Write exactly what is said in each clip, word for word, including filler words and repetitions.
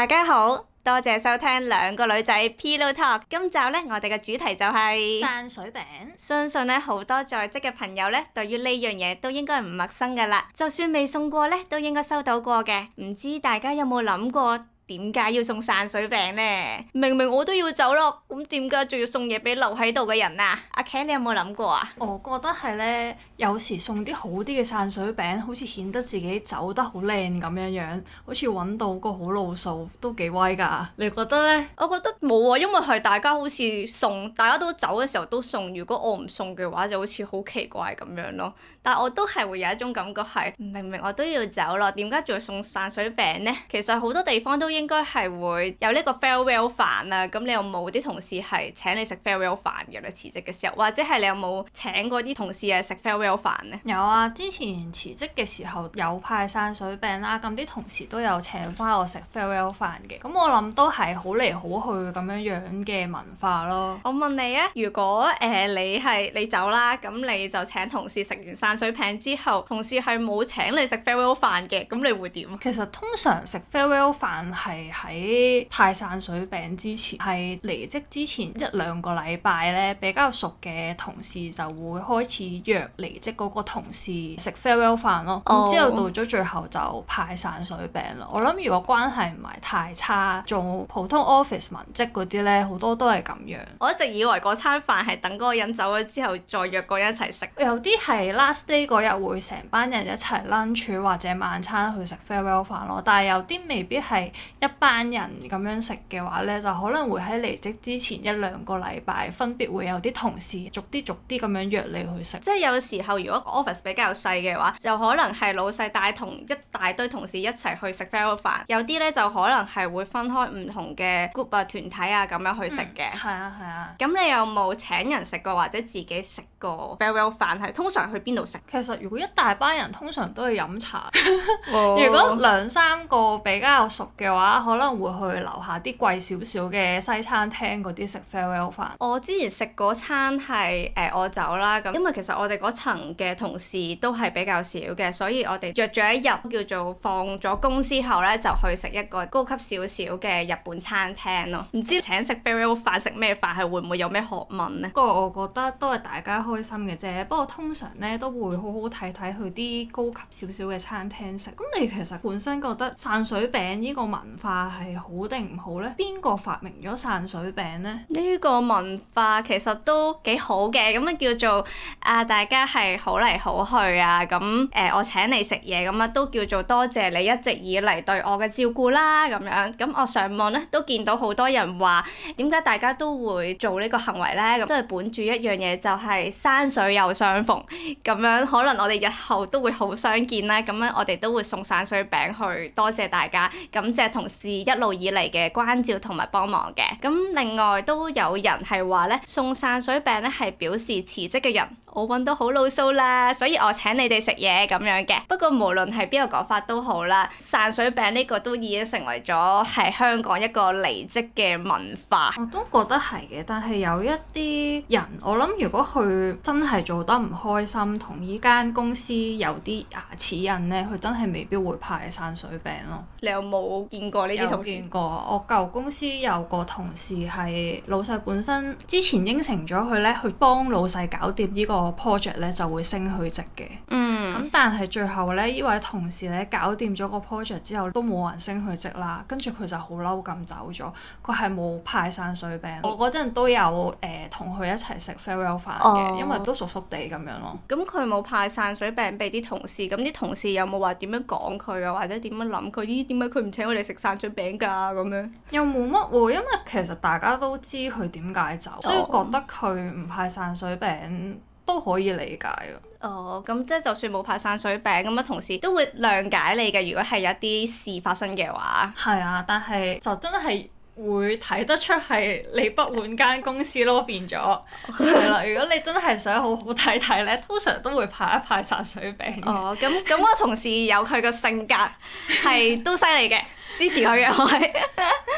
大家好，多謝收聽兩個女仔 Pillow Talk。今集呢，我哋嘅主題就係散水餅。 相信呢，好多在職嘅朋友呢，對於呢樣嘢都應該唔陌生㗎啦。就算未送過呢，都應該收到過嘅。唔知大家有冇諗過？點解要送散水餅呢？明明我都要走咯，咁點解仲要送嘢俾留喺度嘅人啊？阿 K， 你有冇諗過啊？ 我覺得係呢，有時送啲好啲嘅散水餅，好似顯得自己走得好靚咁樣樣，好似揾到個好路數，都幾威㗎。你覺得呢？ 我覺得冇啊，因為係大家好似送，大家都走嘅時候都送。如果我唔送嘅話，就好似好奇怪咁樣咯。但我都係會有一種感覺係，明明我都要走咯，點解仲要送散水餅呢？其實好多地方都應該係會有呢個 farewell 飯啊，咁你有冇啲同事係請你食 farewell 飯嘅咧？辭職嘅時候，或者係你有冇請過啲同事係食 farewell 飯呢？ 有啊，之前辭職嘅時候有派散水餅啦，咁啲同事都有請翻我食 farewell 飯嘅，咁我諗都係好嚟好去咁樣樣嘅文化咯。 我問你啊，如果誒、呃、你係你走啦，咁你就請同事食完散水餅之後，同事係冇請你食 farewell 飯嘅，咁你會點？ 其實通常食 farewell 飯係喺派散水餅之前，係離職之前一兩個禮拜咧，比較熟嘅同事就會開始約離職嗰個同事食 farewell 飯咯。咁、oh. 之後到咗最後就派散水餅咯。我諗如果關係唔係太差，做普通 office 文職嗰啲咧，好多都係咁樣。 我一直以為嗰餐飯係等嗰個人走咗之後再約嗰個人一齊食。 有啲係 last day 嗰日會成班人一齊 lunch 或者晚餐去食 farewell 飯咯，但係有啲未必係一班人咁樣食嘅話咧，就可能會喺離職之前一兩個禮拜分別會有啲同事逐啲逐啲咁樣約你去食。 即係有時候如果 office 比較細嘅話，就可能係老細帶同一大堆同事一齊去食 farewell 飯，有啲咧就可能係會分開唔同嘅 group 啊團體啊咁樣去食嘅。 係啊係啊。 咁、啊、你有冇請人食過或者自己食過 farewell 飯？係通常去邊度食？ 其實如果一大班人通常都係飲茶。 哦、 如果兩三個比較熟嘅話，可能會去樓下啲貴少少嘅西餐廳嗰啲食 farewell 飯。 我之前食嗰餐係誒、呃、我走啦，咁因為其實我哋嗰層嘅同事都係比較少嘅，所以我哋約咗一日叫做放咗工之後咧，就去食一個高級少少嘅日本餐廳咯。唔知請食 farewell 飯食咩飯係會唔會有咩學問呢？ 不過我覺得都係大家開心嘅啫。不過通常咧都會好好睇睇去啲高級少少嘅餐廳食。咁你其實本身覺得散水餅呢個文化係好定唔好呢？邊個發明咗散水餅呢？ 呢個文化其實都幾好嘅，咁啊叫做啊大家係好嚟好去啊，咁誒、呃、我請你食嘢咁啊都叫做多謝你一直以嚟對我嘅照顧啦咁樣。咁我上網咧都見到好多人話點解大家都會做呢個行為呢？咁都係本住一樣嘢，就係山水有相逢咁樣，可能我哋日後都會好相見啦。咁樣我哋都會送散水餅去多謝大家，感謝同事一路以嚟嘅關照同埋幫忙嘅。咁另外都有人係話咧，送散水餅咧係表示辭職嘅人，我揾到好路數啦，所以我請你哋食嘢咁樣嘅。不過無論係邊個講法都好啦，散水餅呢個都已經成為咗係香港一個離職嘅文化。 我都覺得係嘅，但係有一啲人，我諗如果佢真係做得唔開心，同依間公司有啲牙齒印咧，佢真係未必會派散水餅咯。 你有冇見過呢啲同事？ 有見過，我舊公司有個同事係老細本身之前應承咗佢咧，去幫老細搞掂呢個 project 咧，就會升佢職嘅。 嗯。 咁但係最後咧，呢位同事咧搞掂咗個 project 之後，都冇人升佢職啦，跟住佢就好嬲咁走咗。佢係冇派散水餅。我嗰陣都有誒同佢一齊食 farewell 飯嘅，哦、因為都熟熟地咁樣咯。 咁佢冇派散水餅俾啲同事，咁啲同事有冇話點樣講佢啊，或者點樣諗佢？咦，點解佢唔請我哋食散水餅㗎咁樣？ 又冇乜喎，因為其實大家都知佢點解走，哦、所以覺得佢唔派散水餅都可以理解咯。 哦，咁即係就算冇派散水餅，咁啊同事都會諒解你嘅。如果係有啲事發生嘅話， 係啊，但係就真係會睇得出係你不滿間公司咯，變咗係啦。如果你真係想好好睇睇咧，通常都會派一派散水餅。 哦，咁咁我同事有佢個性格係都犀利嘅，支持佢嘅我係。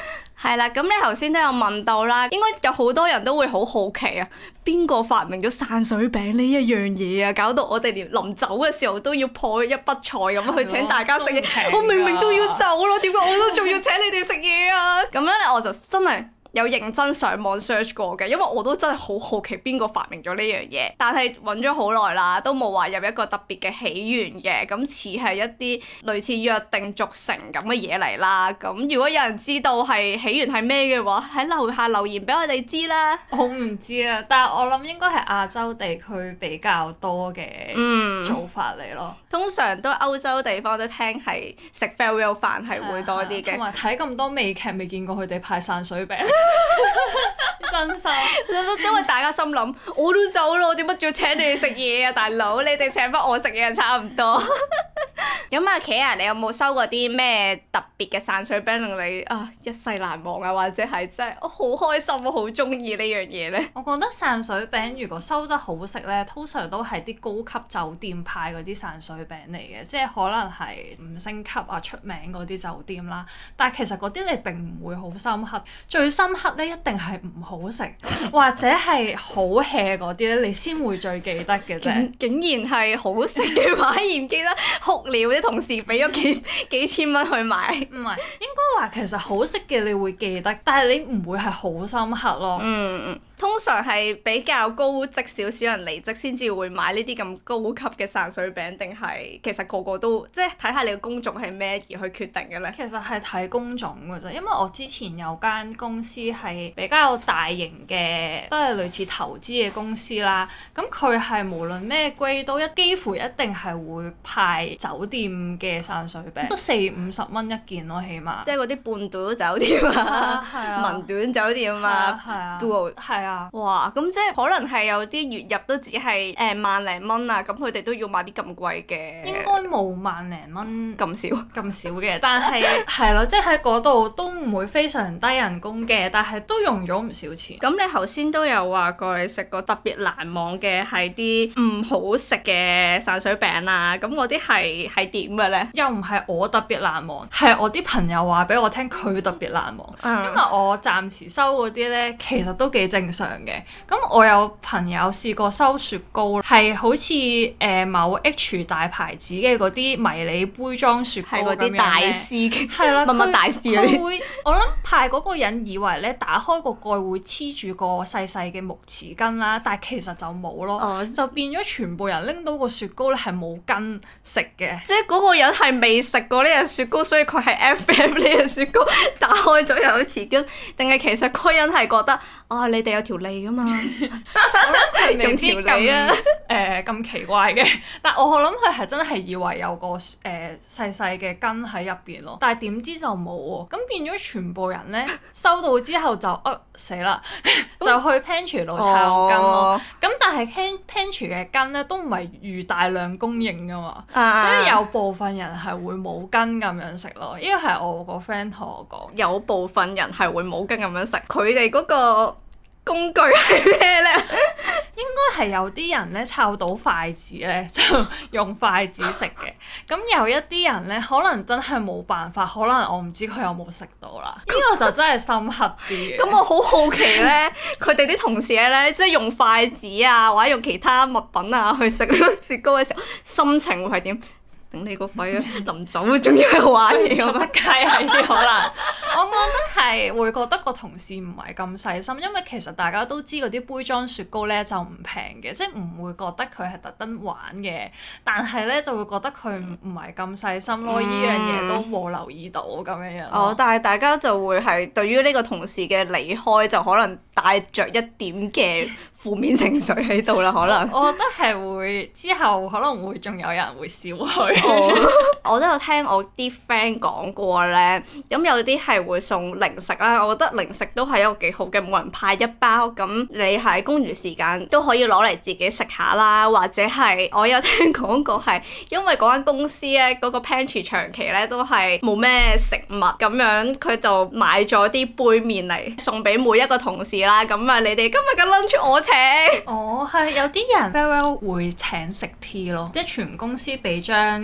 係啦，咁你頭先都有問到啦，應該有好多人都會好好奇啊，邊個發明咗散水餅呢一樣嘢啊？搞到我哋連臨走嘅時候都要破一筆財咁去請大家食嘢，我明明都要走咯，點解我都仲要請你哋食嘢啊？咁咧我就真係有認真上網 search 過嘅，因為我都真係好好奇邊個發明咗呢樣嘢，但係揾咗好耐啦，都冇話有一個特別嘅起源嘅，咁似係一啲類似約定俗成咁嘅嘢嚟啦。咁如果有人知道係起源係咩嘅話，喺樓下留言俾我哋知啦。 我唔知啊，但係我諗應該係亞洲地區比較多嘅做法嚟咯。 嗯、通常都歐洲地方都聽係食 farewell 飯係會多啲嘅， 同埋睇咁多美劇未見過佢哋派散水餅。真心， 因為大家心諗，我都走咯，點解仲要請你哋食嘢啊，大佬？你哋請翻我食嘢就差唔多。咁阿琪啊，你有冇收過啲咩特別嘅散水餅令你啊一世難忘啊？或者係真係我好開心，我好中意呢樣嘢咧？ 我覺得散水餅如果收得好食咧，通常都係啲高級酒店派嗰啲散水餅嚟嘅，即係可能係五星級啊出名嗰啲酒店啦。但係其實嗰啲你並唔會好深刻，最深刻咧一定係唔好食或者係好 hea 嗰啲咧，你先會最記得嘅啫。 竟然係好食嘅話，而唔記得哭了啲同事俾咗幾幾千蚊去買。 唔係，應該話其實好食嘅你會記得，但係你唔會係好深刻咯。 嗯嗯。通常係比較高職少少人離職先至會買呢啲咁高級嘅散水餅，定係其實個個都即係睇下你嘅工種係咩而去決定嘅咧？ 其實係睇工種㗎啫，因為我之前有間公司係比較大型嘅，都係類似投資嘅公司啦。咁佢係無論咩 grade 都一幾乎一定係會派酒店嘅散水餅，都四五十蚊一件咯，起碼。 即係嗰啲半島酒店啊，文短酒店啊，都係啊。 哇！咁即係可能係有啲月入都只係誒萬零蚊啊，咁佢哋都要買啲咁貴嘅。 應該冇萬零蚊咁少咁少嘅，但係係咯，即係喺嗰度都唔會非常低人工嘅，但係都用咗唔少錢。 咁你頭先都有話過你食過特別難忘嘅係啲唔好食嘅散水餅啊，咁嗰啲係係點嘅咧？ 又唔係我特別難忘，係我啲朋友話俾我聽佢特別難忘，嗯、因為我暫時收嗰啲咧其實都幾正常嘅。咁我有朋友試過收雪糕，係好似誒、呃、某 H 大牌子嘅嗰啲迷你杯裝雪糕咁樣咧，係嗰啲大師，係啦，乜乜大師嗰啲。佢會，我諗派嗰個人以為咧打開個蓋會黐住個細細嘅木匙羹啦，但係其實就冇咯，哦、就變咗全部人拎到個雪糕咧係冇羹食嘅。即係嗰個人係未食過呢隻雪糕，所以佢係 F M 呢隻雪糕打開咗有匙羹，定係其實嗰個人係覺得啊你哋有條脷㗎嘛？我諗佢未必咁誒咁奇怪嘅，但我諗佢係真係以為有個誒、呃、細細嘅羹喺入邊咯，但係點知就冇喎，咁變咗全部人咧收到之後就啊死啦，就去 pantry 度抄羹咯。咁、哦、但係 pantry 嘅羹咧都唔係預大量供應㗎嘛，啊、所以有部分人係會冇羹咁樣食咯。呢個係我個 friend 同我講，有部分人係會冇羹咁樣食，佢哋嗰個工具係咩咧？應該係有啲人咧摷到筷子咧就用筷子食嘅，咁有一啲人咧可能真係冇辦法，可能我唔知佢有冇食到啦。呢個就真係深刻啲嘅。咁我好好奇咧，佢哋啲同事咧即係用筷子啊或者用其他物品啊去食呢個雪糕嘅時候，心情會係點？頂你個肺啊！臨走仲要係玩嘢咁啊！梗係啲可能，我覺得係會覺得個同事唔係咁細心，因為其實大家都知嗰啲杯裝雪糕咧就唔平嘅，即係唔會覺得佢係特登玩嘅，但係咧就會覺得佢唔係咁細心咯。呢、嗯、樣嘢都冇留意到咁樣樣。哦，但係大家就會係對於呢個同事嘅離開就可能帶着一點嘅負面情緒喺度啦，可能。我覺得係會之後可能會仲有人會笑佢。我都有聽我啲 friend 講過咧，咁有啲係會送零食啦，我覺得零食都係一個幾好嘅，每人派一包，咁你喺公餘時間都可以攞嚟自己食下啦，或者係我有聽講過係因為嗰間公司咧嗰個 pantry 長期咧都係冇咩食物咁樣，佢就買咗啲杯麵嚟送俾每一個同事啦，咁啊你哋今日嘅 lunch 我請。哦，係有啲人 farewell 會請食 tea 咯，即係全公司俾張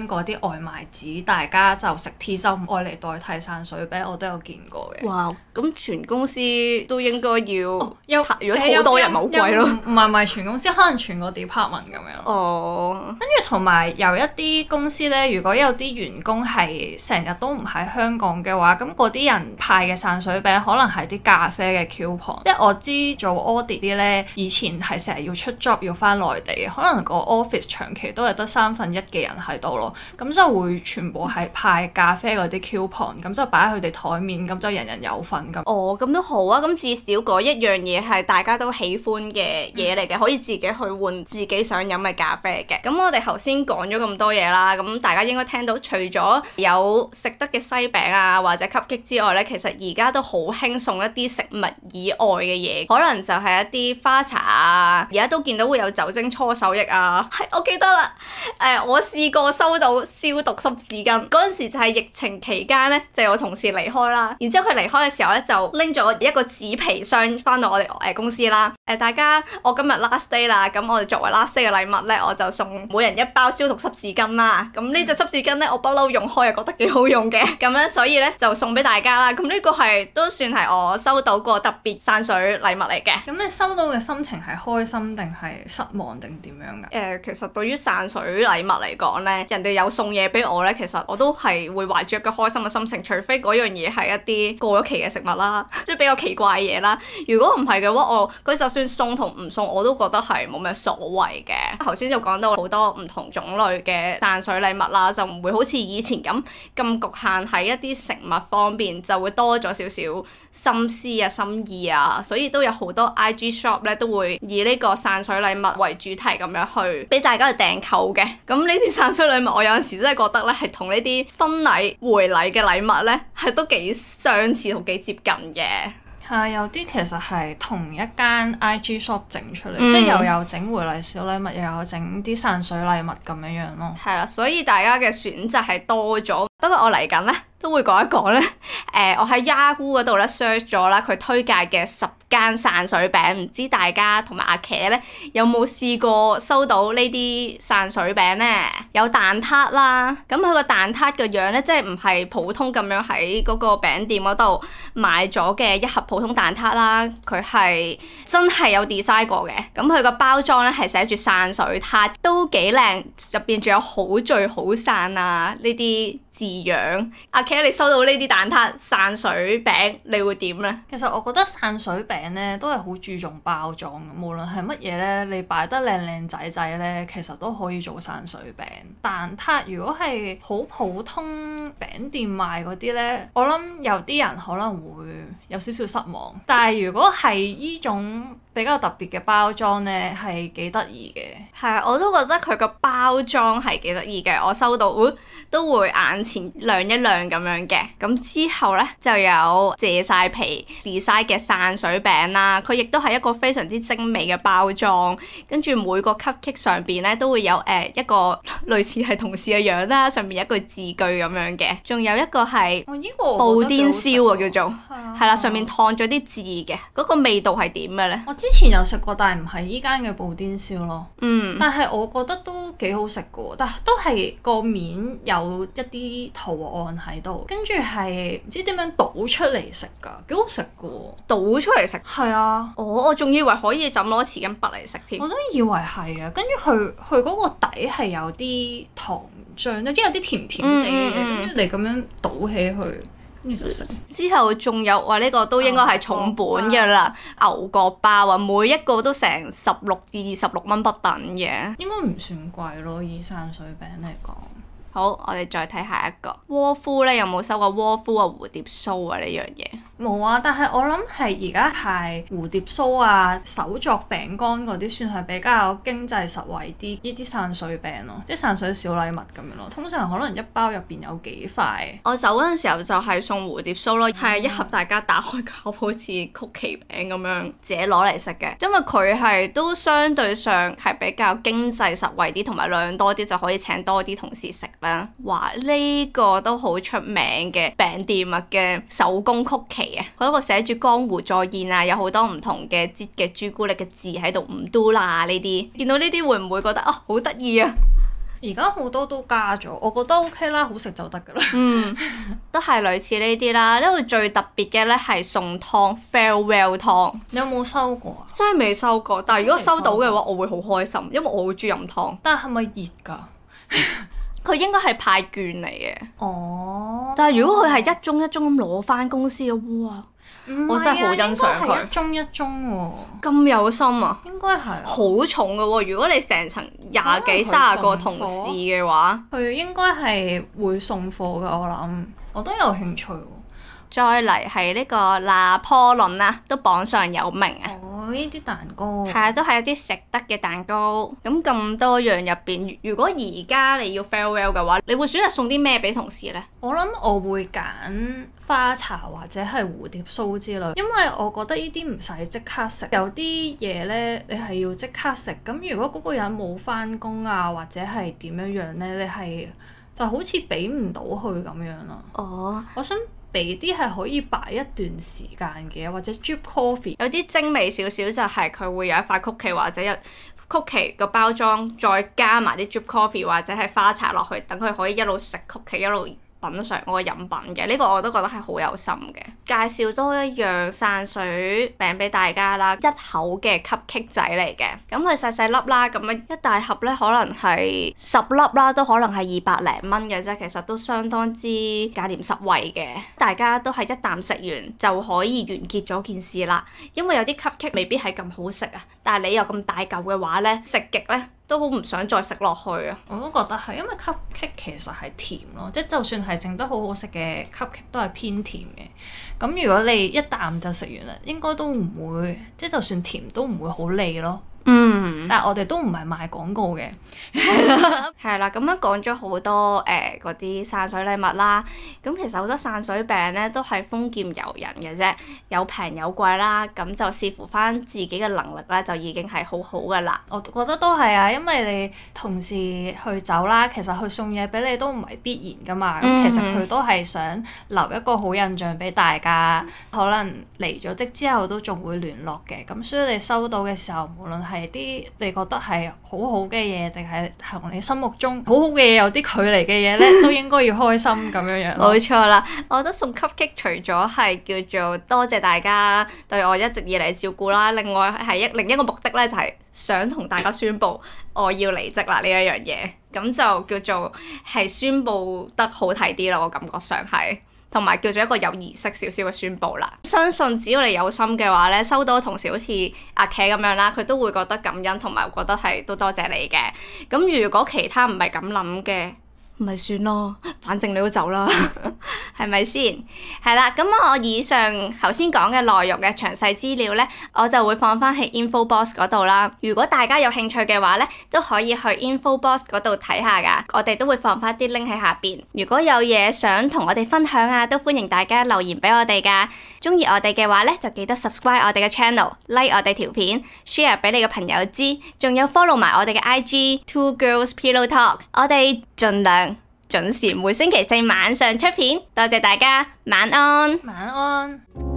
嗰啲外賣紙，大家就食 T 就唔愛嚟代替散水餅，我都有見過嘅。 哇！咁全公司都應該要， 哦、有如果好多人咪好貴咯。 唔係唔係全公司，可能全個 department 咁樣。 哦。 跟住同埋有一啲公司呢，如果有啲員工係成日都唔喺香港嘅話，咁嗰啲人派嘅散水餅可能係啲咖啡嘅 coupon。即係我知做 audit 啲呢，以前係成日要出 job 要翻內地，可能個 office 長期都係得三分一嘅人喺度咯，咁就會全部係派咖啡嗰啲 coupon，咁就擺喺佢哋台面，咁就人人有份咁。 哦，咁都好啊，咁至少嗰一樣嘢係大家都喜歡嘅嘢嚟嘅，可以自己去換自己想飲嘅咖啡嘅。咁我哋頭先講咗咁多嘢啦，咁大家應該聽到除咗有食得嘅西餅啊或者吸擊之外呢，其實而家都好興送一啲食物以外嘅嘢，可能就係一啲花茶啊，而家都見到會有酒精搓手液啊。係，我記得啦，誒、呃，我試過收到消毒濕紙巾，嗰陣時就係疫情期間呢，就有同事離開啦，然之後佢離開嘅時候呢，就拎咗一個紙皮箱翻到我哋誒公司啦。誒、呃，大家，我今日 last day 啦，咁我哋作為 last day 嘅禮物呢，我就送每人一包消毒濕紙巾啦。咁呢隻濕紙巾呢，我不嬲用開又覺得幾好用嘅，咁咧所以呢，就送俾大家啦。咁呢個係都算係我收到過特別散水禮物嚟嘅。 咁你收到嘅心情係開心定係失望定點樣㗎？誒、 呃，其實對於散水禮物嚟講呢，人哋有送嘢俾我呢，其實我都係會懷住一個開心嘅心情，除非嗰樣嘢係一啲過咗期嘅食物啦，即係比較奇怪嘅嘢啦。如果唔係嘅話，我佢就算送同唔送，我都覺得係冇咩所謂嘅。頭先就講到好多唔同種類嘅散水禮物啦，就唔會好似以前咁咁局限喺一啲食物方面，就會多咗少少心思啊、心意啊，所以都有好多 I G shop 咧都會以呢個散水禮物為主題咁樣去俾大家去訂購嘅。咁呢啲散水禮物，我有陣時真係覺得咧係同呢啲婚禮回禮嘅禮物咧係都幾相似同幾接近嘅。 係，有啲其實係同一間 I G shop 整出嚟， 嗯、 即係又有整回禮小禮物，又有整啲散水禮物咁樣樣咯。 係啦，所以大家嘅選擇係多咗。不過我嚟緊咧都會講一講咧，誒、呃，我喺 Yahoo 嗰度咧 search 咗啦，佢推介嘅十間散水餅，唔知大家同埋阿茄咧有冇試過收到呢啲散水餅咧？有蛋撻啦，咁佢個蛋撻嘅樣咧，即係唔係普通咁樣喺嗰個餅店嗰度買咗嘅一盒普通蛋撻啦，佢係真係有 design 過嘅。咁佢個包裝咧係寫住散水撻，都幾靚，入邊仲有好聚好散啊呢啲字樣。阿茄，你收到呢啲蛋撻散水餅，你會點咧？ 其實我覺得散水餅咧都係好注重包裝嘅，無論係乜嘢咧，你擺得靚靚仔仔咧，其實都可以做散水餅。蛋撻如果係好普通餅店賣嗰啲咧，我諗有啲人可能會有少少失望。但係如果係依種比較特別嘅包裝咧，係幾得意嘅。 係啊，我都覺得佢個包裝係幾得意嘅。我收到、呃、都會眼前亮一亮咁樣嘅。咁之後咧就有謝晒皮 design 嘅散水餅啦。佢亦都係一個非常之精美嘅包裝。跟住每個 cupcake 上邊咧都會有誒、呃、一個類似係同事嘅樣啦，上面有一句字句咁樣嘅。仲有一個係布甸燒啊，叫做係啦，上面燙咗啲字嘅。嗰、嗰個味道係點嘅咧？ 我之前有食過，但係唔係依間嘅布甸燒咯。 嗯。 但係我覺得都幾好食嘅喎，但係都係個面有一啲圖案喺度，跟住係唔知點樣倒出嚟食㗎，幾好食嘅喎。 倒出嚟食？ 係啊。 哦，我仲以為可以就咁攞匙羹拔嚟食添。 我都以為係啊，跟住佢佢嗰個底係有啲糖漿，有啲有啲甜甜地嘅嘢，跟住、嗯嗯、你咁樣倒起去。跟住就食。 之後仲有話呢、呢個都應該係重本嘅啦，牛角包啊，每一個都成十六至二十六蚊不等嘅。 應該唔算貴咯，以散水餅嚟講。 好，我哋再睇下一個窩夫咧，有冇收過窩夫啊蝴蝶酥啊呢樣嘢？ 冇啊，但係我諗係而家係蝴蝶酥啊、手作餅乾嗰啲算係比較經濟實惠啲，呢啲散水餅咯，即係散水小禮物咁樣咯。通常可能一包入邊有幾塊。 我走嗰陣時候就係送蝴蝶酥咯，係、嗯、一盒大家打開個好似曲奇餅咁樣自己攞嚟食嘅，因為佢係都相對上係比較經濟實惠啲，同埋量多啲就可以請多啲同事食啦。哇！呢、呢個都好出名嘅餅店啊嘅手工曲奇啊，嗰個寫住江湖再現啊，有好多唔同嘅擠嘅朱古力嘅字喺度，唔嘟啦呢啲，見到呢啲會唔會覺得啊好得意啊？ 而家好多都加咗，我覺得 OK 啦，好食就得㗎啦。 嗯，都係類似呢啲啦。呢度最特別嘅咧係送湯 farewell 湯。 你有冇收過啊？ 真係未收過，但係如果收到嘅話，我會好開心，因為我好中意飲湯。 但係係咪熱㗎？ 佢應該係派券嚟嘅。 哦。 但係如果佢係一盅一盅咁攞翻公司嘅，哇！我真係好欣賞佢。 應該係一盅一盅喎。 咁有心啊！ 應該係。 好重嘅喎，如果你成層廿幾三十個同事嘅話， 佢應該係會送貨㗎，我諗。我都有興趣喎。 再嚟係呢個拿破崙啦，都榜上有名啊！ 哦，呢啲蛋糕係啊，都係一啲食得嘅蛋糕。咁咁多樣入邊，如果而家你要 farewell 嘅話，你會選擇送啲咩俾同事呢？ 我諗我會揀花茶或者係蝴蝶酥之類，因為我覺得呢啲唔使即刻食，有啲嘢呢，你係要即刻食。咁如果嗰個人冇返工啊，或者係點樣樣呢，你係就好似俾唔到佢咁樣咯。 哦， 我想俾啲係可以擺一段時間嘅，或者 drip coffee。 有啲精美少少就係佢會有一塊曲奇或者有曲奇個包裝，再加埋啲 drip coffee 或者係花茶落去，等佢可以一路食曲奇一路品嚐嗰個飲品嘅，呢個我都覺得係好有心嘅。介紹多一樣散水餅俾大家啦，一口嘅 cupcake 仔嚟嘅，咁佢細細粒啦，咁樣一大盒咧可能係十粒啦，都可能係二百零蚊嘅啫，其實都相當之價廉實惠嘅。大家都係一啖食完就可以完結咗件事啦，因為有啲 cupcake 未必係咁好食啊，但係你有咁大嚿嘅話咧，食極咧都好唔想再食落去啊！ 我都覺得係，因為 cupcake 其實係甜咯，即係就算係整得好好食嘅 cupcake 都係偏甜嘅。咁如果你一啖就食完啦，應該都唔會，即係就算甜都唔會好膩咯。 嗯， 但係我哋都唔係賣廣告嘅， 係啦，咁樣講咗好多誒嗰啲散水禮物啦。咁其實好多散水餅咧都係豐儉由人嘅啫，有平有貴啦。咁就視乎翻自己嘅能力咧，就已經係好好噶啦。 我覺得都係啊，因為你同事去走啦，其實佢送嘢俾你都唔係必然噶嘛。咁、嗯、其實佢都係想留一個好印象俾大家，可能離咗職之後都仲會聯絡嘅。咁所以你收到嘅時候，無論係啲你覺得係好好嘅嘢，定係同你心目中好好嘅嘢有啲距離嘅嘢咧，都應該要開心咁樣樣。 冇錯啦，我覺得送 cupcake 除咗係叫做多謝大家對我一直以嚟照顧啦，另外係一另一個目的咧，就係想同大家宣佈我要離職啦呢一樣嘢，咁就叫做係宣佈得好睇啲咯，我感覺上係。同埋叫做一個有儀式少少嘅宣佈啦，相信只要你有心嘅話咧，收到同事好似阿茄咁樣啦，佢都會覺得感恩，同埋覺得係都多謝你嘅。咁如果其他唔係咁諗嘅，咪算咯，反正你都走啦，係咪先？係啦，咁我以上頭先講嘅內容嘅詳細資料呢，我就會放翻喺 InfoBox 嗰度啦。如果大家有興趣嘅話呢，都可以去 InfoBox 嗰度睇下噶，我哋都會放翻啲 link 喺下邊。如果有嘢想同我哋分享啊，都歡迎大家留言俾我哋噶。中意我哋嘅話呢，就記得 subscribe 我哋嘅 channel，like 我哋條片 ，share 俾你嘅朋友知，仲有 follow 埋我哋嘅 I G Two Girls Pillow Talk，我哋盡量準時每星期四晚上出片，多謝大家，晚安。 晚安。